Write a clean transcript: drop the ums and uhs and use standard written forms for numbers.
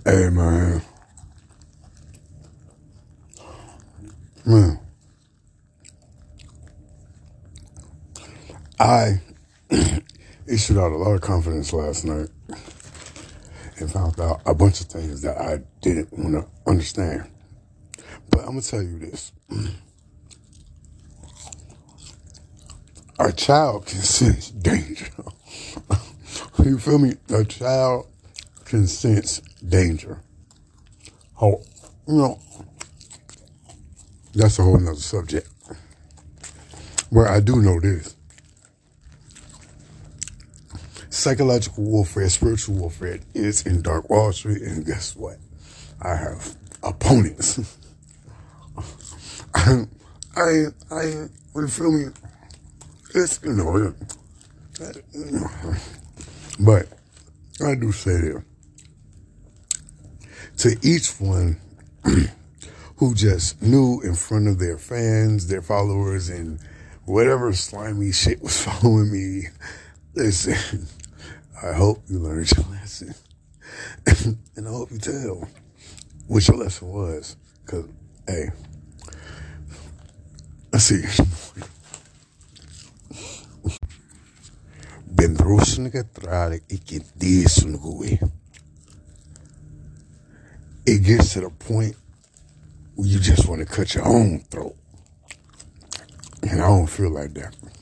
Hey, man, I issued out a lot of confidence last night and found out a bunch of things that I didn't want to understand. But I'm gonna tell you this: a child can sense danger. You feel me? A child can sense danger. Oh, you know, that's a whole nother subject. Where I do know this: psychological warfare, spiritual warfare is in Dark Wall Street, and guess what? I have opponents. You feel me? It's, but I do say that to each one who just knew in front of their fans, their followers, and whatever slimy shit was following me, listen, I hope you learned your lesson. And I hope you tell what your lesson was. Because, hey, let's see. Ben roosje getrade, ik get this on the way. It gets to the point where you just want to cut your own throat. And I don't feel like that.